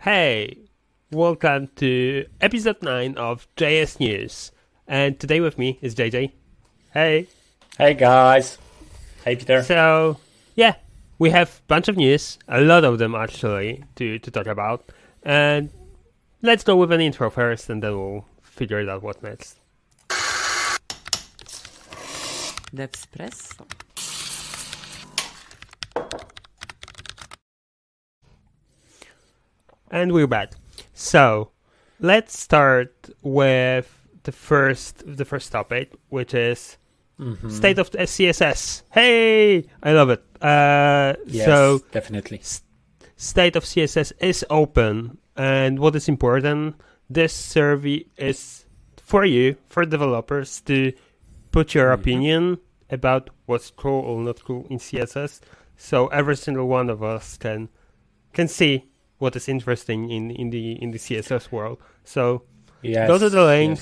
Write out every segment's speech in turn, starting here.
Hey, welcome to episode 9 of JS News. And today with me is JJ. Hey. Hey guys. Hey Peter. So, yeah, we have a bunch of news, a lot of them actually, to talk about. And let's go with an intro first and then we'll figure it out what next. D'espresso. And we're back. So, let's start with the first topic, which is state of CSS. Hey, I love it. Yes, so definitely. State of CSS is open, and what is important, this survey is for you, for developers, to put your opinion about what's cool or not cool in CSS. So every single one of us can see what is interesting in the CSS world. So go to the link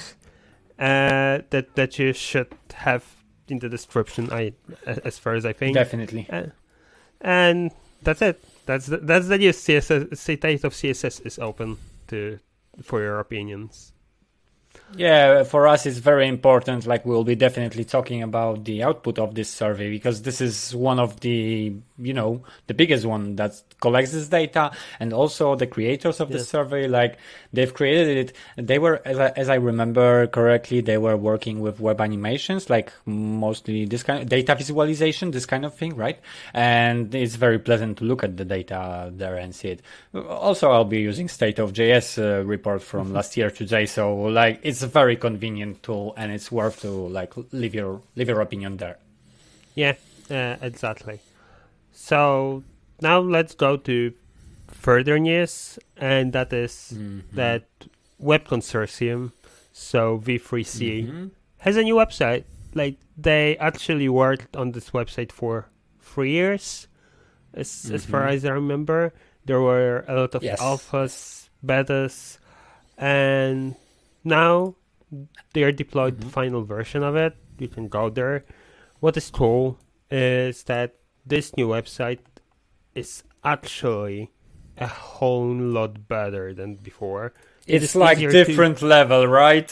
that you should have in the description. As far as I think, Definitely. And that's it. That's the news. CSS state of CSS is open for your opinions. Yeah, for us it's very important. Like we'll be definitely talking about the output of this survey because this is one of the the biggest one that collects this data, and also the creators of the survey, like they've created it. They were, as I remember correctly, they were working with web animations, like mostly this kind of data visualization, this kind of thing, right? And it's very pleasant to look at the data there and see it. Also, I'll be using State of JS report from last year today, so like it's a very convenient tool and it's worth to like leave your opinion there. Yeah, exactly. So now let's go to further news, and that is that Web Consortium, so V3C, has a new website. Like they actually worked on this website for 3 years, as far as I remember. There were a lot of alphas, betas, and now they are deployed the final version of it. You can go there. What is cool is that this new website is actually a whole lot better than before. It's like different level, right?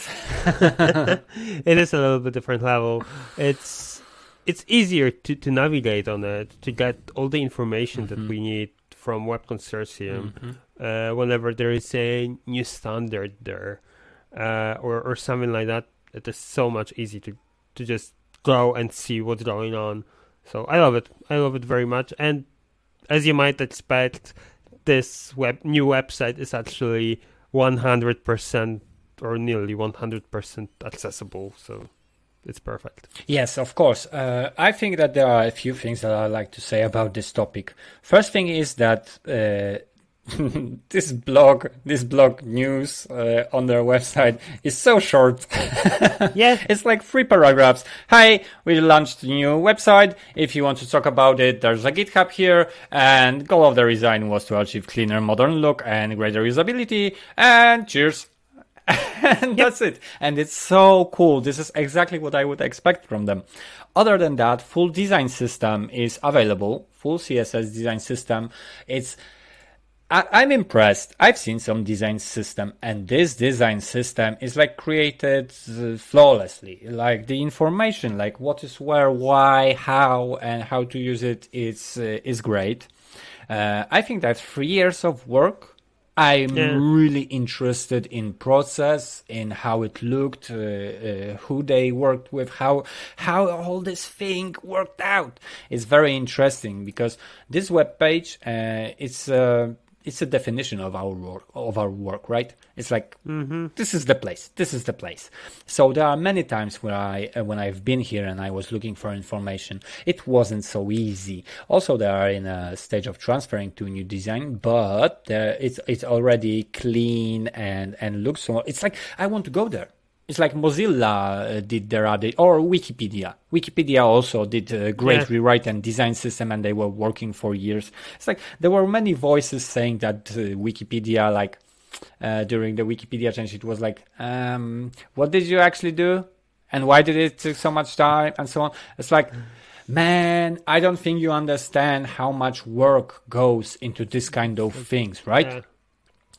It is a little bit different level. It's easier to navigate on it, to get all the information that we need from Web Consortium whenever there is a new standard there or something like that. It is so much easier to just go and see what's going on. So I love it. I love it very much. And as you might expect, this new website is actually 100% or nearly 100% accessible. So it's perfect. Yes, of course. I think that there are a few things that I like to say about this topic. First thing is that this blog news on their website is so short. Yeah, it's like 3 paragraphs. Hi, we launched a new website. If you want to talk about it, there's a GitHub here, and goal of the design was to achieve cleaner, modern look and greater usability. And cheers. And that's it. And it's so cool. This is exactly what I would expect from them. Other than that, full design system is available. Full CSS design system. I'm impressed. I've seen some design system, and this design system is like created flawlessly. Like the information, like what is where, why, how, and how to use it is great. I think that 3 years of work. I'm really interested in process, in how it looked, who they worked with, how all this thing worked out. It's very interesting because this web page, it's a definition of our work, right? It's like this is the place. So there are many times where when I've been here and I was looking for information, it wasn't so easy. Also, they are in a stage of transferring to a new design, but it's already clean and looks so. It's like I want to go there. It's like Mozilla did their update, or Wikipedia. Wikipedia also did a great rewrite and design system, and they were working for years. It's like there were many voices saying that Wikipedia, like during the Wikipedia change, it was like, what did you actually do? And why did it take so much time? And so on. It's like, man, I don't think you understand how much work goes into this kind of things, right?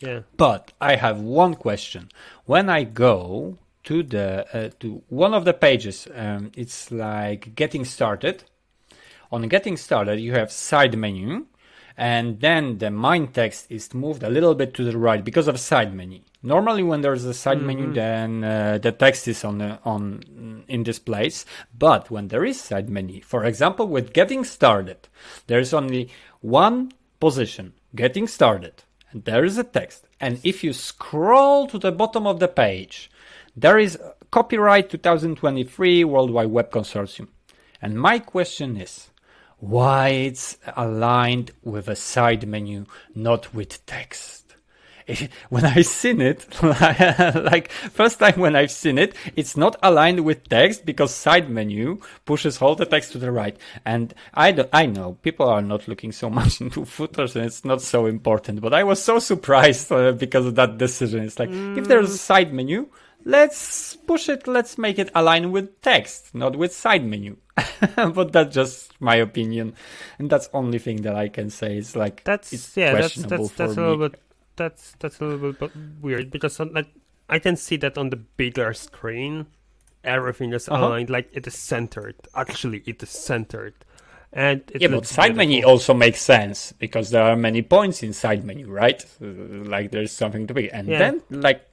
Yeah. But I have one question. When I go to the to one of the pages, it's like getting started. On getting started, you have side menu, and then the main text is moved a little bit to the right because of side menu. Normally, when there's a side menu, then the text is on in this place. But when there is side menu, for example, with getting started, there is only one position, getting started, and there is a text. And if you scroll to the bottom of the page, there is copyright 2023 World Wide Web Consortium. And my question is, why it's aligned with a side menu, not with text? When I've seen it, like first time when I've seen it, it's not aligned with text because side menu pushes all the text to the right. And I know people are not looking so much into footers and it's not so important, but I was so surprised because of that decision. It's like, if there's a side menu, let's push it, let's make it align with text, not with side menu. But that's just my opinion. And that's the only thing that I can say. It's like, it's questionable for that's me. a little bit. That's a little bit weird because I can see that on the bigger screen, everything is aligned, like it is centered. Actually, it is centered, and it but side menu also makes sense because there are many points in side menu, right? Like there's something to be, and then like,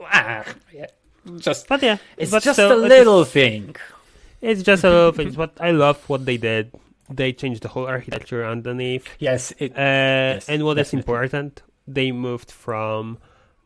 just it's just still, a little thing. It's just a little thing. But I love what they did. They changed the whole architecture underneath. Yes, and what is important. They moved from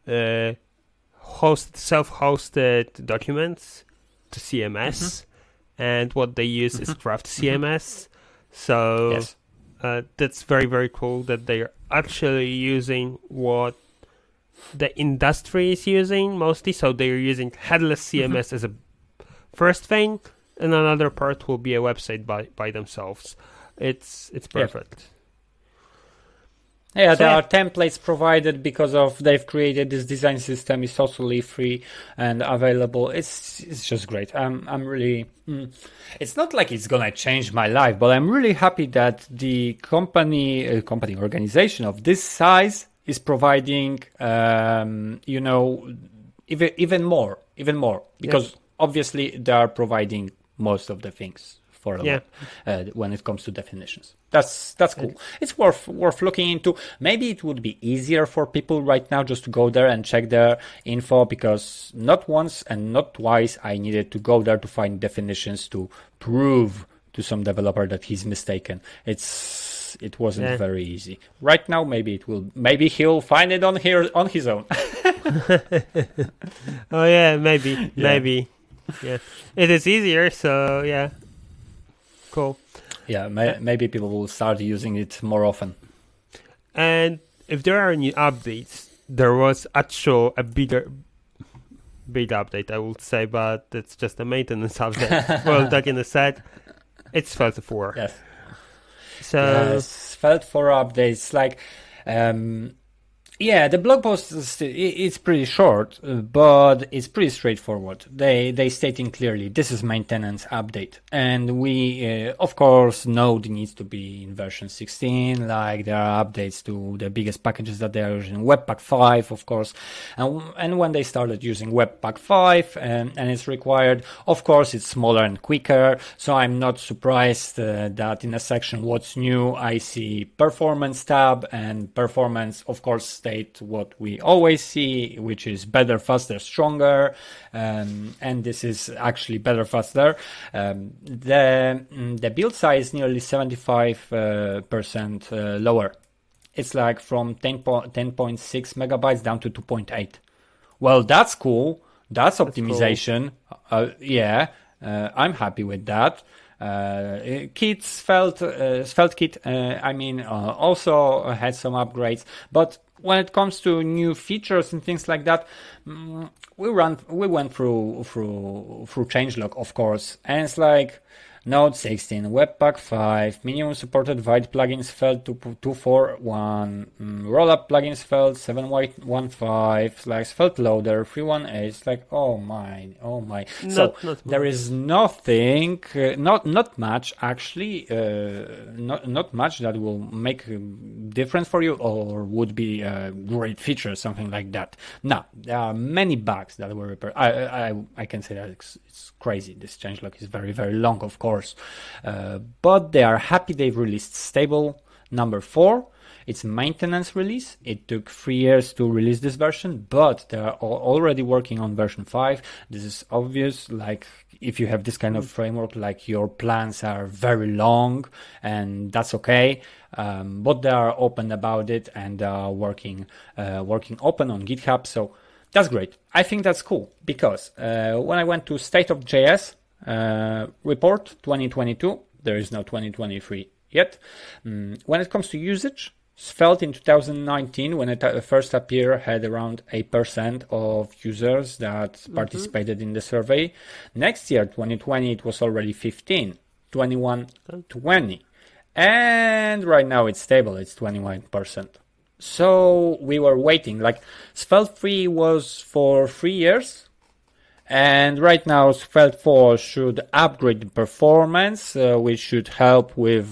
self-hosted documents to CMS, and what they use is Craft CMS. So that's very, very cool that they're actually using what the industry is using mostly. So they're using headless CMS as a first thing, and another part will be a website by themselves. It's perfect. Yeah, there are templates provided because of they've created this design system. It's totally free and available. It's just great. I'm really. It's not like it's gonna change my life, but I'm really happy that the company organization of this size is providing, even more because obviously they are providing most of the things for a lot, when it comes to definitions. That's cool. It's worth looking into. Maybe it would be easier for people right now just to go there and check their info, because not once and not twice I needed to go there to find definitions to prove to some developer that he's mistaken. It wasn't very easy. Right now, maybe he'll find it on his own. Oh yeah, maybe. Yeah, it is easier. So yeah. Cool. Yeah, maybe people will start using it more often. And if there are new updates, there was actually a big update, I would say, but it's just a maintenance update. Well, like in the set, it's Svelte 4. Yes. So Svelte 4 updates, like, the blog post it's pretty short, but it's pretty straightforward. They stating clearly this is maintenance update, and we of course know it needs to be in version 16. Like there are updates to the biggest packages that they are using, Webpack 5, of course, and when they started using Webpack 5 and it's required, of course it's smaller and quicker. So I'm not surprised that in a section what's new I see performance tab, and performance of course what we always see, which is better, faster, stronger, and this is actually better, faster. The build size nearly 75% lower. It's like from 10.6 megabytes down to 2.8. Well, that's cool. That's optimization. Cool. I'm happy with that. Svelte Kit, also had some upgrades, but when it comes to new features and things like that, we went through changelog, of course, and it's like Node 16, Webpack 5, minimum supported Vite plugins Svelte 241, rollup plugins Svelte 7.15, Svelte loader 318. It's like, oh my. So there is nothing, not much actually, not much that will make a difference for you or would be a great feature, something like that. No, there are many bugs that were repaired. I can say that it's crazy. This changelog is very, very long, of course. But they are happy they've released stable number 4. It's a maintenance release. It took 3 years to release this version, but they are already working on version 5. This is obvious. Like, if you have this kind of framework, like, your plans are very long, and that's okay. But they are open about it, and they are working open on GitHub. So that's great. I think that's cool, because when I went to State of JS report 2022, there is no 2023 yet. When it comes to usage, Svelte in 2019, when it first appeared, had around 8% of users that participated in the survey. Next year, 2020, it was already 15, 21, 20. And right now it's stable, it's 21%. So we were waiting, like Svelte 3 was for 3 years. And right now, Svelte 4 should upgrade the performance, which should help with,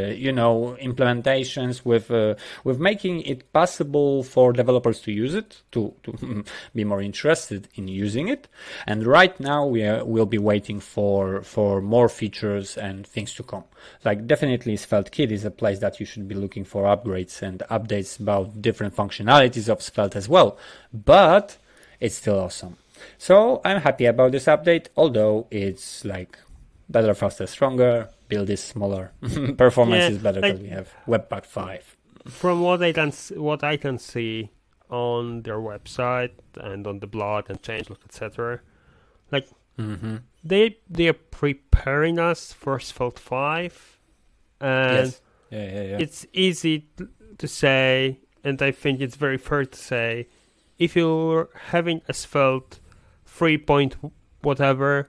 implementations, with making it possible for developers to use it, to be more interested in using it. And right now, we'll be waiting for more features and things to come. Like, definitely, Svelte Kit is a place that you should be looking for upgrades and updates about different functionalities of Svelte as well. But it's still awesome. So I'm happy about this update, although it's like better, faster, stronger, build is smaller, performance is better because we have Webpack 5. From what I can see on their website and on the blog and changelog, etc., like they are preparing us for Svelte 5, and it's easy to say, and I think it's very fair to say, if you're having a Svelte 3 point whatever,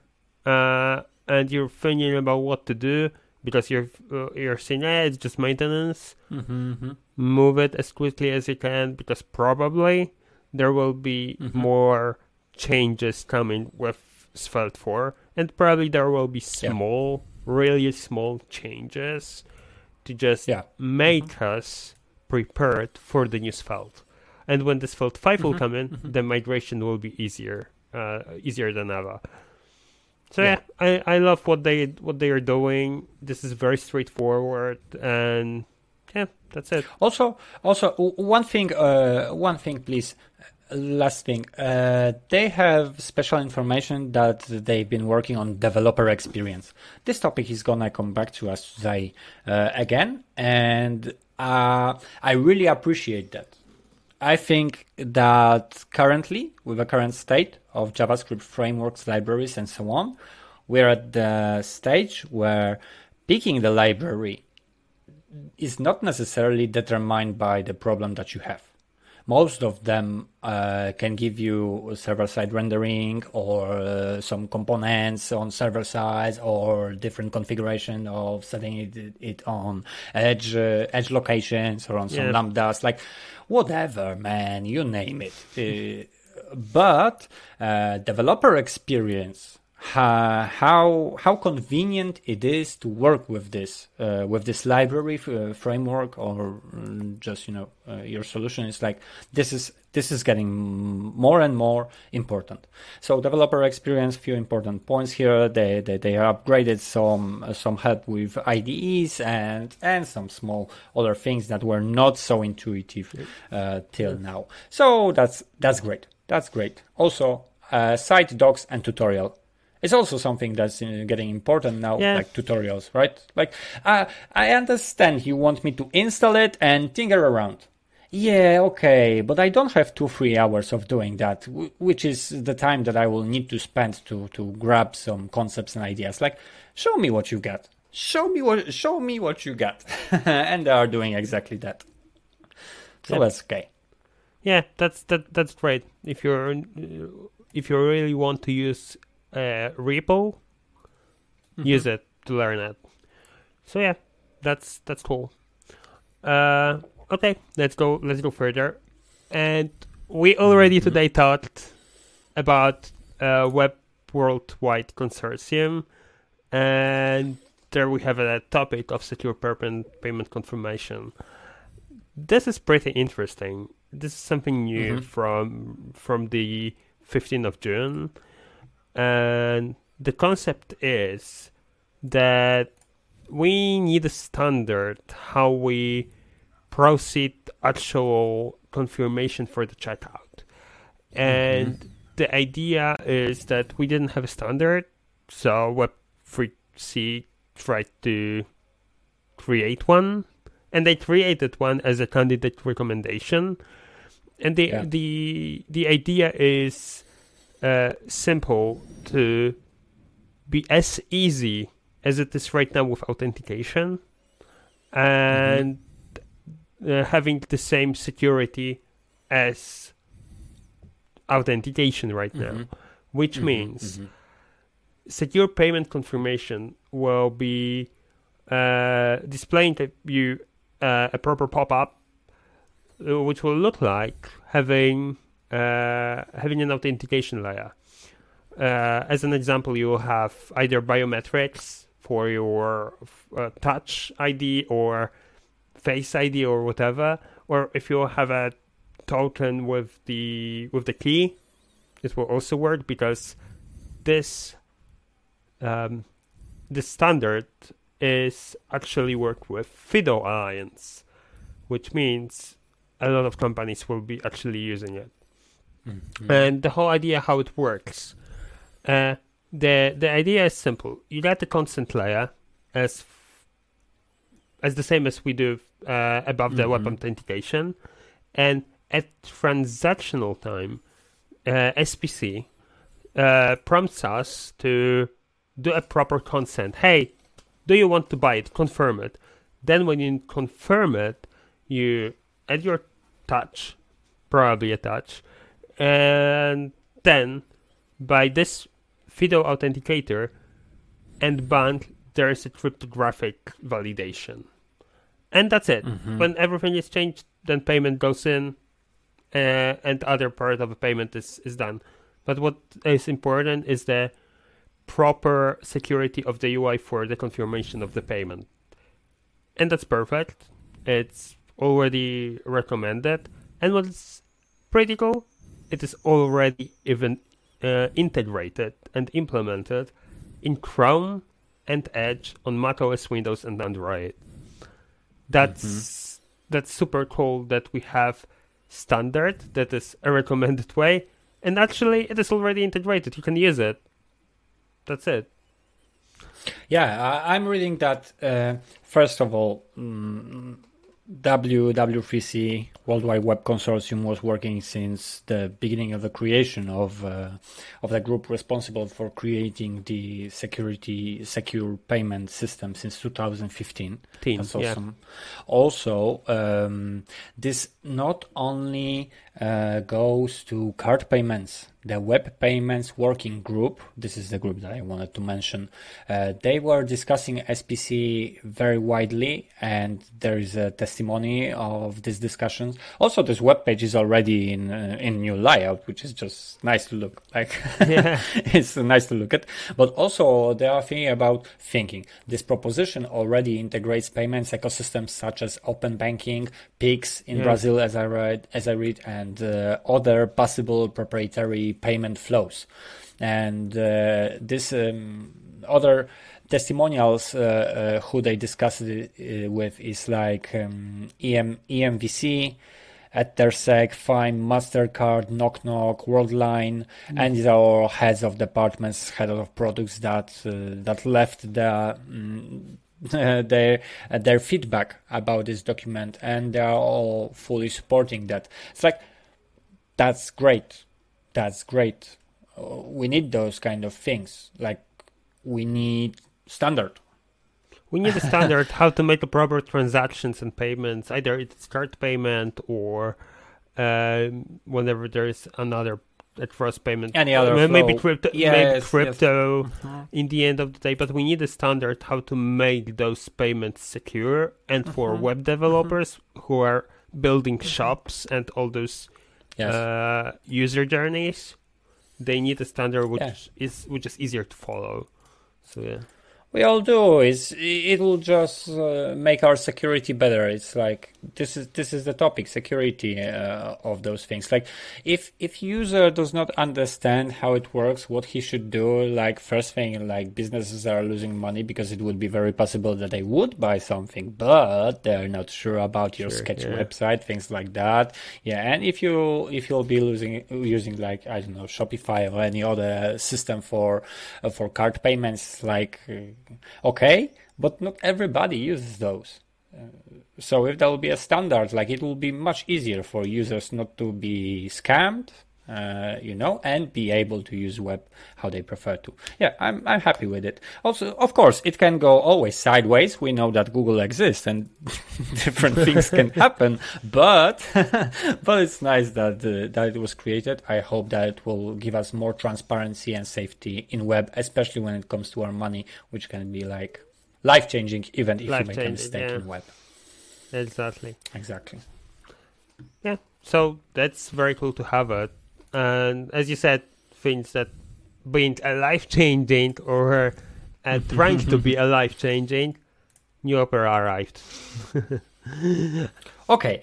and you're thinking about what to do because you're saying, it's just maintenance, move it as quickly as you can, because probably there will be more changes coming with Svelte 4, and probably there will be really small changes to just make us prepared for the new Svelte. And when the Svelte 5 will come in, the migration will be easier than ever. So I love what they are doing. This is very straightforward, and that's it. Also, one thing, please. Last thing, they have special information that they've been working on developer experience. This topic is gonna come back to us today again, and I really appreciate that. I think that currently, with the current state of JavaScript frameworks, libraries, and so on, we're at the stage where picking the library is not necessarily determined by the problem that you have. Most of them can give you server-side rendering or some components on server side or different configuration of setting it on edge locations or on some lambdas, like whatever, man, you name it. But developer experience, how convenient it is to work with this library framework, or just your solution is like this is getting more and more important. So developer experience, few important points here. They upgraded some help with IDEs and some small other things that were not so intuitive till now. So that's great. That's great. Also, site docs and tutorial. It's also something that's getting important now, like tutorials, right? Like, I understand you want me to install it and tinker around. Yeah, okay, but I don't have 2-3 hours of doing that, which is the time that I will need to spend to grab some concepts and ideas. Like, show me what you got. Show me what you got. And they are doing exactly that. So that's okay. Yeah, that's great. If you really want to use repo, use it. learn it. So yeah, that's cool. Okay, let's go further. And we already today talked about Web Worldwide Consortium, and there we have a topic of secure payment confirmation. This is pretty interesting. This is something new from the 15th of June, and the concept is that we need a standard how we proceed actual confirmation for the checkout. And the idea is that we didn't have a standard, so Web3C tried to create one, and they created one as a candidate recommendation. And the idea is simple, to be as easy as it is right now with authentication, and having the same security as authentication right now, which means secure payment confirmation will be displaying to you a proper pop-up, which will look like having an authentication layer. As an example, you will have either biometrics for your touch ID or face ID or whatever, or if you have a token with the key, it will also work, because this standard is actually work with FIDO Alliance, which means a lot of companies will be actually using it. And the whole idea how it works, the idea is simple. You get the consent layer as the same as we do above the web authentication, and at transactional time, SPC prompts us to do a proper consent. Hey, do you want to buy it? Confirm it. Then when you confirm it, you add your touch, probably a touch, and then by this FIDO authenticator and band, there is a cryptographic validation. And that's it. When everything is changed, then payment goes in, and other part of the payment is done. But what is important is the proper security of the UI for the confirmation of the payment. And that's perfect. It's already recommended. And what's pretty cool, it is already even integrated and implemented in Chrome and Edge on macOS, Windows, and Android. That's super cool that we have standard that is a recommended way, and actually it is already integrated. You can use it. That's it. Yeah, I'm reading that, first of all, W3C, Worldwide Web Consortium, was working since the beginning of the creation of the group responsible for creating the secure payment system since 2015. That's awesome. Yeah. Also, this not only goes to card payments. The Web Payments Working Group, this is the group that I wanted to mention, they were discussing SPC very widely, and there is a testimony of these discussions. Also, this web page is already in new layout, which is just nice to look like. Yeah. It's nice to look at. But also, they are thinking this proposition already integrates payments ecosystems such as open banking, Pix in Brazil, as I read, and other possible proprietary payment flows. And this other testimonials who they discussed it with is like EMVC, Ettersec, Fine, MasterCard, Knock Knock, Worldline, and these are all heads of departments, head of products that left their feedback about this document, and they are all fully supporting that. It's like, that's great. We need those kind of things. Like, we need standard. We need a standard how to make the proper transactions and payments. Either it's card payment or whenever there is another across payment. Any other maybe flow. crypto, Yes. in the end of the day, but we need a standard how to make those payments secure. And for web developers who are building shops and all those user journeys, they need a standard which is easier to follow. So yeah. We all do. It will just make our security better. It's like this is the topic, security of those things. Like if user does not understand how it works, what he should do, like first thing, like businesses are losing money because it would be very possible that they would buy something, but they're not sure about your sketch website, things like that. Yeah, and if you'll be using like, I don't know, Shopify or any other system for card payments, like. Okay, but not everybody uses those. So if there will be a standard, like it will be much easier for users not to be scammed, and be able to use web how they prefer to. Yeah, I'm happy with it. Also, of course, it can go always sideways. We know that Google exists and different things can happen, but it's nice that it was created. I hope that it will give us more transparency and safety in web, especially when it comes to our money, which can be like life-changing even if you make a mistake in web. Exactly. Yeah, so that's very cool to have it. And as you said, things that being a life-changing or trying to be a life-changing, New Opera arrived. Okay.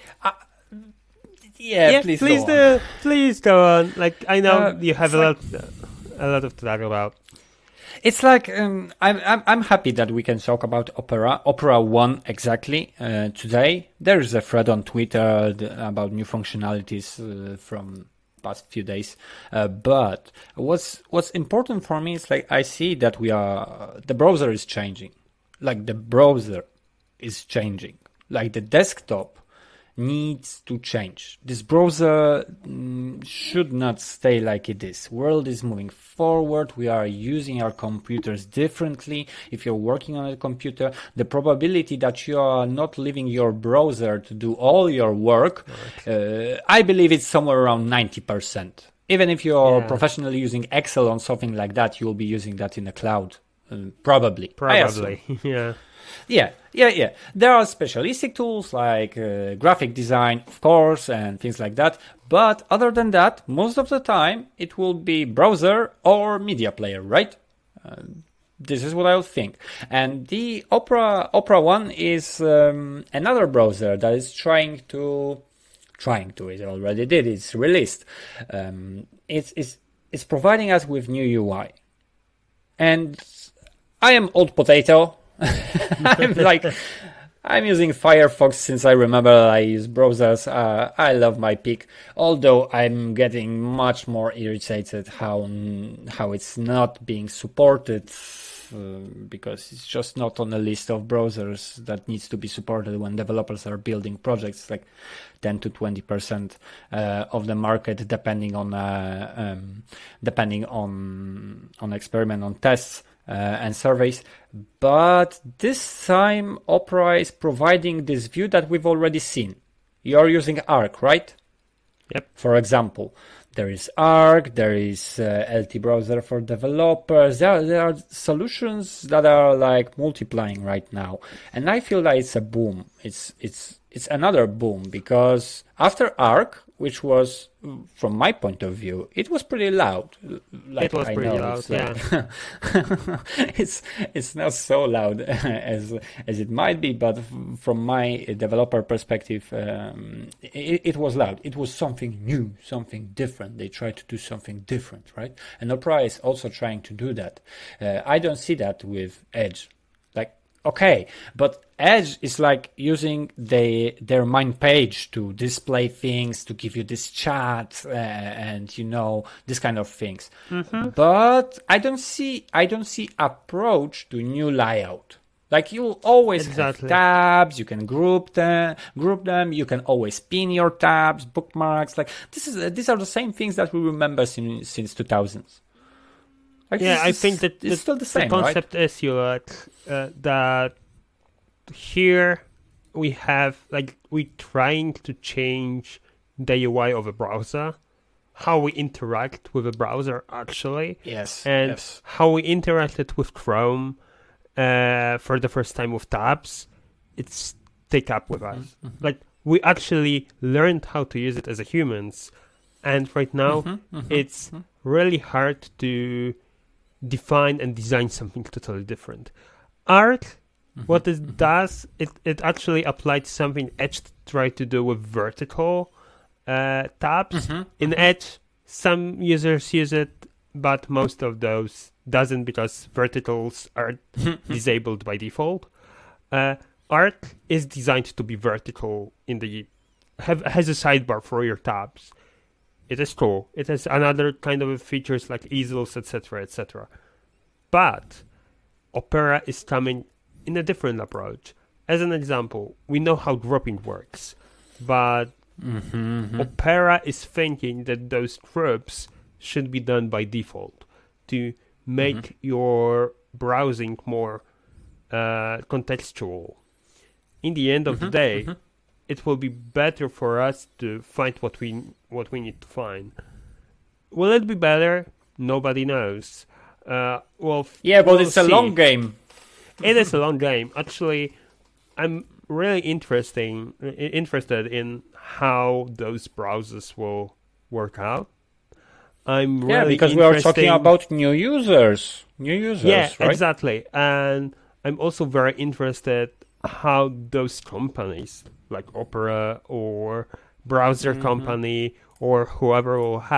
Please go on. Like I know you have a lot of to talk about. It's like I'm happy that we can talk about Opera 1 exactly today. There is a thread on Twitter about new functionalities from past few days. But what's important for me is like I see that the browser is changing. Like the browser is changing. Like the desktop needs to change. This browser should not stay like it is. World is moving forward. We are using our computers differently. If you're working on a computer, the probability that you are not leaving your browser to do all your work, I believe it's somewhere around 90%. Even if you're professionally using Excel on something like that, you'll be using that in the cloud. Probably. Yeah. There are specialistic tools like graphic design, of course, and things like that. But other than that, most of the time, it will be browser or media player, right? This is what I would think. And the Opera 1 is another browser that is trying to, it already did, it's released. It's providing us with new UI. And I am old potato. I'm using Firefox since I remember I use browsers. I love my pick, although I'm getting much more irritated how it's not being supported because it's just not on the list of browsers that needs to be supported when developers are building projects, like 10 to 20% of the market, depending on experiment, on tests. And surveys, but this time Opera is providing this view that we've already seen. You're using Arc, right? Yep. For example, there is Arc, there is LT Browser for developers. There are solutions that are like multiplying right now, and I feel that it's a boom. It's another boom because after Arc, which was, from my point of view, it was pretty loud. Like, it was pretty loud, yeah. It's not so loud as it might be, but from my developer perspective, it was loud. It was something new, something different. They tried to do something different, right? And Opera is also trying to do that. I don't see that with Edge. Okay, but Edge is like using their main page to display things, to give you this chat and this kind of things. Mm-hmm. But I don't see approach to new layout. Like you always have tabs, you can group them. You can always pin your tabs, bookmarks. Like these are the same things that we remember since 2000s. I think that it's still the same, concept right? is that here we have we're trying to change the UI of a browser, how we interact with a browser actually, Yes. and Yes. how we interacted with Chrome for the first time with tabs. It's take up with us. Like we actually learned how to use it as a humans, and right now it's really hard to define and design something totally different. Art, what it does, it actually applied something Edge tried to do with vertical tabs. In Edge, some users use it, but most of those doesn't because verticals are disabled by default. Art is designed to be vertical in the has a sidebar for your tabs. It is cool. It has another kind of features like easels, etc., etc. But Opera is coming in a different approach. As an example, we know how grouping works, but Opera is thinking that those groups should be done by default to make your browsing more contextual. In the end of the day, it will be better for us to find what we need to find. Will it be better? Nobody knows. But we'll it's a see. long game. It is a long game. Actually, I'm really interested in how those browsers will work out. I'm really because we are talking about new users. Yeah, right? exactly. And I'm also very interested how those companies like Opera or browser company or whoever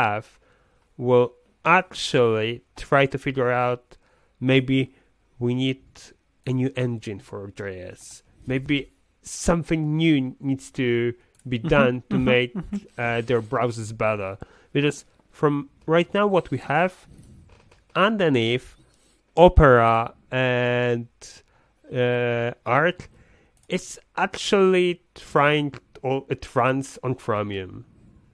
will actually try to figure out maybe we need a new engine for JS. Maybe something new needs to be done to make their browsers better. Because from right now what we have underneath Opera and Art, it's actually it runs on Chromium.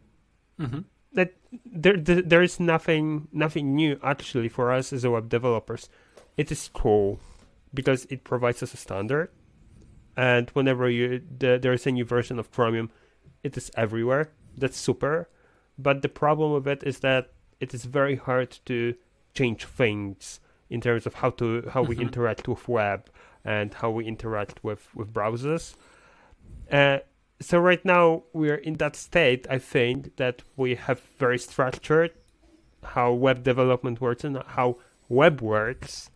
That there is nothing new actually for us as a web developers. It is cool because it provides us a standard, and whenever there is a new version of Chromium, it is everywhere. That's super. But the problem with it is that it is very hard to change things in terms of how we interact with web and how we interact with browsers. So right now we're in that state, I think, that we have very structured how web development works and how web works.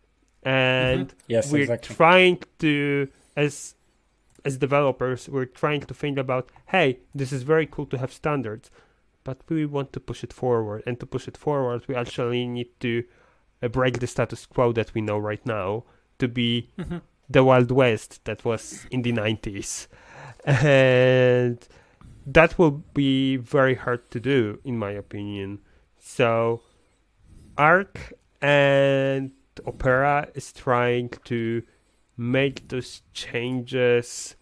And Yes, we're exactly. trying to, as developers, we're trying to think about, hey, this is very cool to have standards, but we want to push it forward. And to push it forward, we actually need to break the status quo that we know right now to be the Wild West that was in the 90s. And that will be very hard to do, in my opinion. So Arc and Opera is trying to make those changes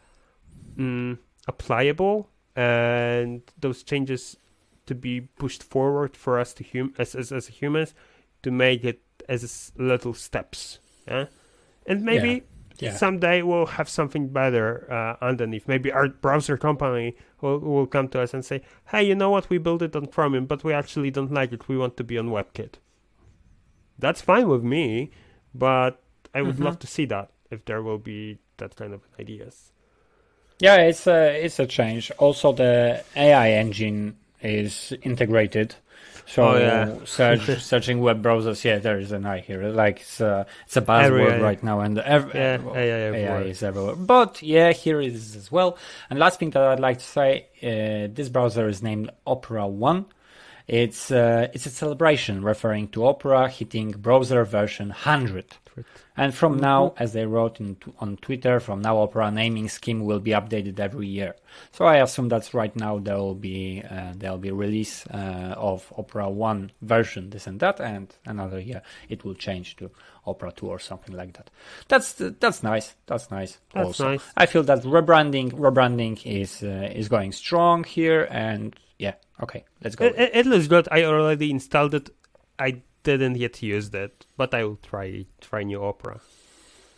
applicable, and those changes to be pushed forward for us to as humans, to make it as little steps. Yeah? And maybe someday we'll have something better underneath. Maybe our browser company will come to us and say, hey, you know what, we built it on Chromium, but we actually don't like it. We want to be on WebKit. That's fine with me, but I would love to see that if there will be that kind of ideas. Yeah, it's a change. Also, the AI engine is integrated. So searching web browsers, there is an AI here. Like it's a buzzword right now, and AI is everywhere. But here it is as well. And last thing that I'd like to say, this browser is named Opera One. It's a celebration referring to Opera hitting browser version 100. And from now, as they wrote on Twitter, from now Opera naming scheme will be updated every year. So I assume that's right now there'll be release of Opera 1 version, this and that, and another year it will change to Opera 2 or something like that. That's nice. That's nice. Nice. I feel that rebranding is going strong here, and okay, let's go. It looks good. I already installed it. I didn't yet use that, but I will try new Opera.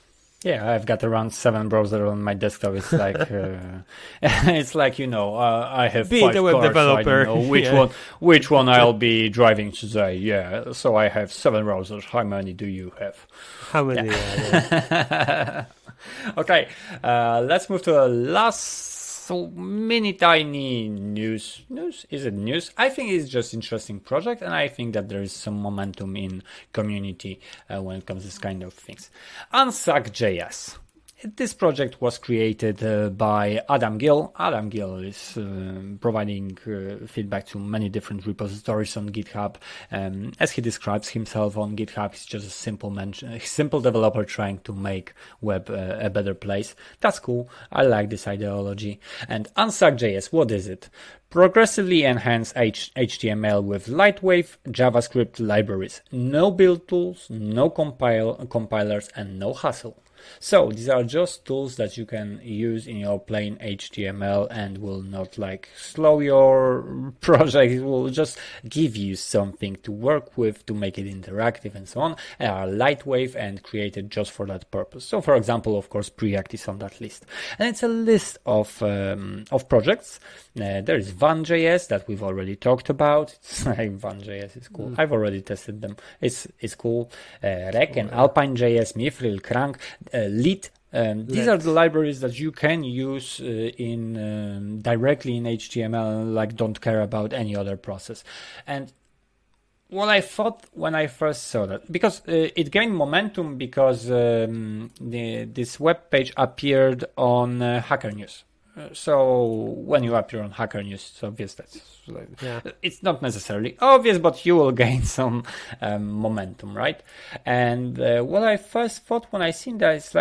Yeah, I've got around 7 browsers on my desktop. It's like, it's like, I have Be 5 the web cars, developer. So I don't know which one I'll be driving today. Yeah, so I have 7 browsers. How many do you have? How many? Yeah. Okay, let's move to the last mini tiny news. Is it news? I think it's just interesting project, and I think that there is some momentum in community when it comes to this kind of things. Unsuck.js. This project was created by Adam Gill. Adam Gill is providing feedback to many different repositories on GitHub. As he describes himself on GitHub, he's just a simple developer trying to make web a better place. That's cool. I like this ideology. And Unsuck.js, what is it? Progressively enhance HTML with lightweight JavaScript libraries. No build tools, no compilers, and no hassle. So these are just tools that you can use in your plain HTML and will not slow your project. It will just give you something to work with to make it interactive and so on. They are lightweight and created just for that purpose. So for example, of course, Preact is on that list. And it's a list of projects. There is Vun.js that we've already talked about. It's like Vun.js is cool. I've already tested them. It's cool. Rec and Alpine.js, Mithril, Crank, Lit. These are the libraries that you can use directly in HTML, don't care about any other process. And what I thought when I first saw that, because it gained momentum because this web page appeared on Hacker News. So when you appear on Hacker News, it's obvious it's not necessarily obvious, but you will gain some momentum, right? And what I first thought when I seen that, it's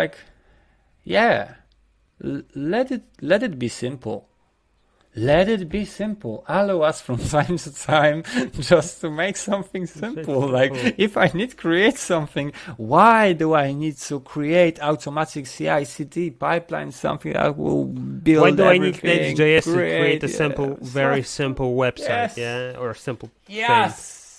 let it be simple. Let it be simple. Allow us from time to time just to make something simple. If I need to create something, why do I need to create automatic CI/CD pipeline, something that will build Why do everything? I need Next.js to create a very simple website, or a simple thing?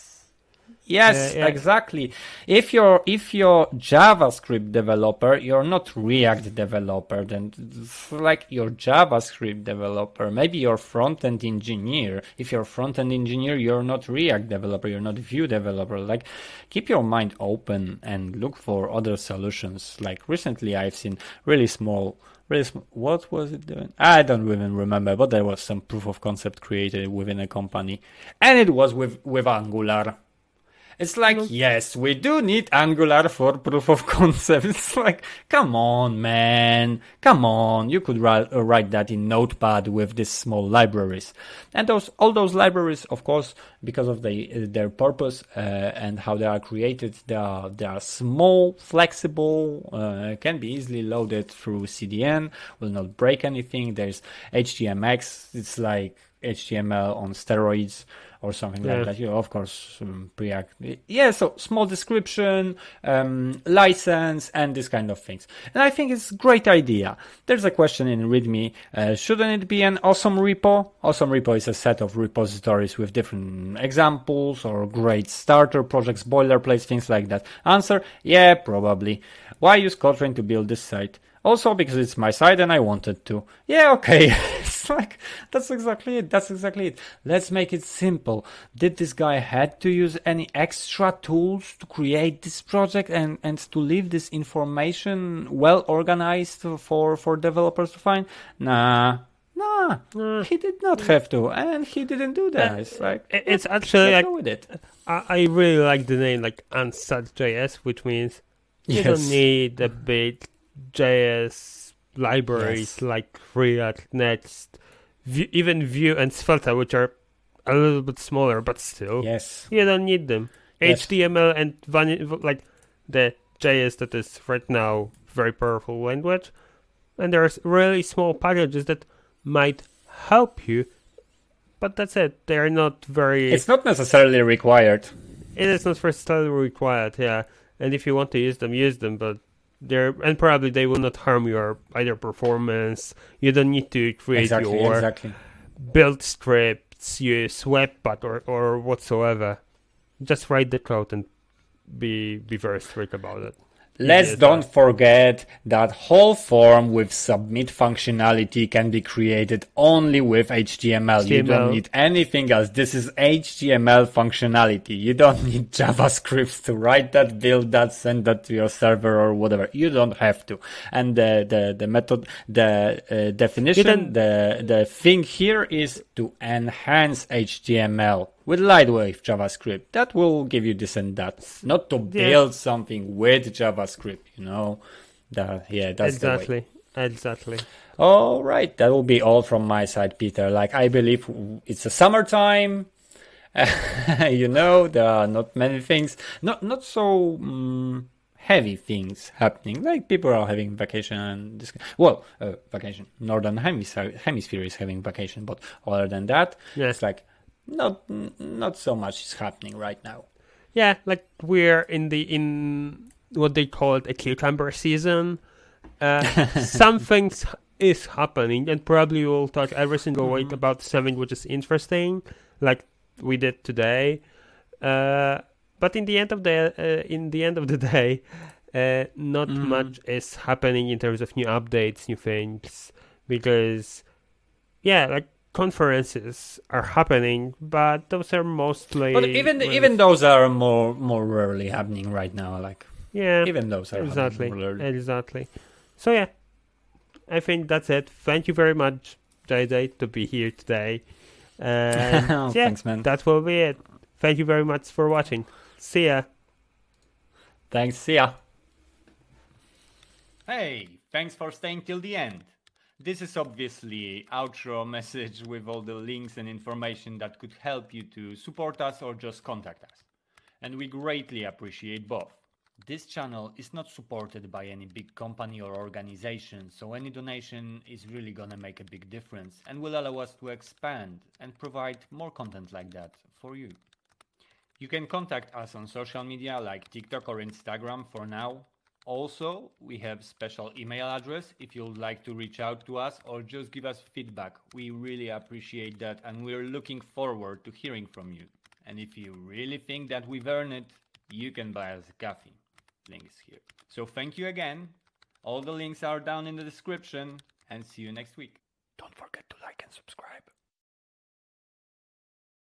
Yes, exactly. If you're JavaScript developer, you're not React developer, then you're JavaScript developer. Maybe you're front-end engineer. If you're front-end engineer, you're not React developer, you're not Vue developer. Keep your mind open and look for other solutions. Recently I've seen really small, what was it doing? I don't even remember, but there was some proof of concept created within a company, and it was with Angular. It's yes, we do need Angular for proof of concept. It's come on, man. Come on. You could write that in Notepad with these small libraries. And all those libraries, of course, because of their purpose and how they are created, they are small, flexible, can be easily loaded through CDN, will not break anything. There's HTMX. It's like HTML on steroids, or something like that. Of course, Preact. So small description, license, and this kind of things. And I think it's a great idea. There's a question in README. Shouldn't it be an awesome repo? Awesome repo is a set of repositories with different examples or great starter projects, boilerplates, things like that. Answer, yeah, probably. Why use Kotlin to build this site? Also because it's my site and I wanted to. Yeah, okay. It's that's exactly it. Let's make it simple. Did this guy had to use any extra tools to create this project and to leave this information well organized for developers to find? Nah, he did not have to, and he didn't do that. It's actually let's go with it. I really like the name, Unsuck.js, which means you don't need a big JS libraries like React, Next, even Vue and Svelte, which are a little bit smaller, but still, you don't need them. HTML and the JS that is right now very powerful language, and there's really small packages that might help you, but that's it. They are not very. It's not necessarily required. It is not necessarily required, and if you want to use them, but and probably they will not harm your either performance. You don't need to create your build scripts, use Webpack or whatsoever. Just write the code and be very strict about it. Let's don't forget that whole form with submit functionality can be created only with HTML. You don't need anything else. This is HTML functionality. You don't need JavaScript to write that, build that, send that to your server or whatever. You don't have to. And the method, the definition, the thing here is to enhance HTML with lightweight JavaScript. That will give you this and that. Not to build something with JavaScript, you know. That's exactly. Exactly. All right. That will be all from my side, Peter. Like, I believe it's a summertime. You know, there are not many things, not so heavy things happening. Like, people are having vacation and this. Well, vacation. Northern hemisphere is having vacation, but other than that, it's like not so much is happening right now. Yeah, like we're in what they call a cucumber season. Some things is happening, and probably we'll talk every single week about something which is interesting, like we did today. But in the end of the day, not much is happening in terms of new updates, new things, because like conferences are happening, but those are mostly. But even those are more rarely happening right now. Like even those are exactly. So yeah, I think that's it. Thank you very much, JJ, to be here today. And thanks, man. That will be it. Thank you very much for watching. See ya. Thanks. See ya. Hey, thanks for staying till the end. This is obviously outro message with all the links and information that could help you to support us or just contact us. And we greatly appreciate both. This channel is not supported by any big company or organization, so any donation is really gonna make a big difference and will allow us to expand and provide more content like that for you. You can contact us on social media like TikTok or Instagram for now. Also, we have special email address if you'd like to reach out to us or just give us feedback. We really appreciate that and we're looking forward to hearing from you. And if you really think that we've earned it, you can buy us a coffee. Links here. So thank you again. All the links are down in the description and see you next week. Don't forget to like and subscribe.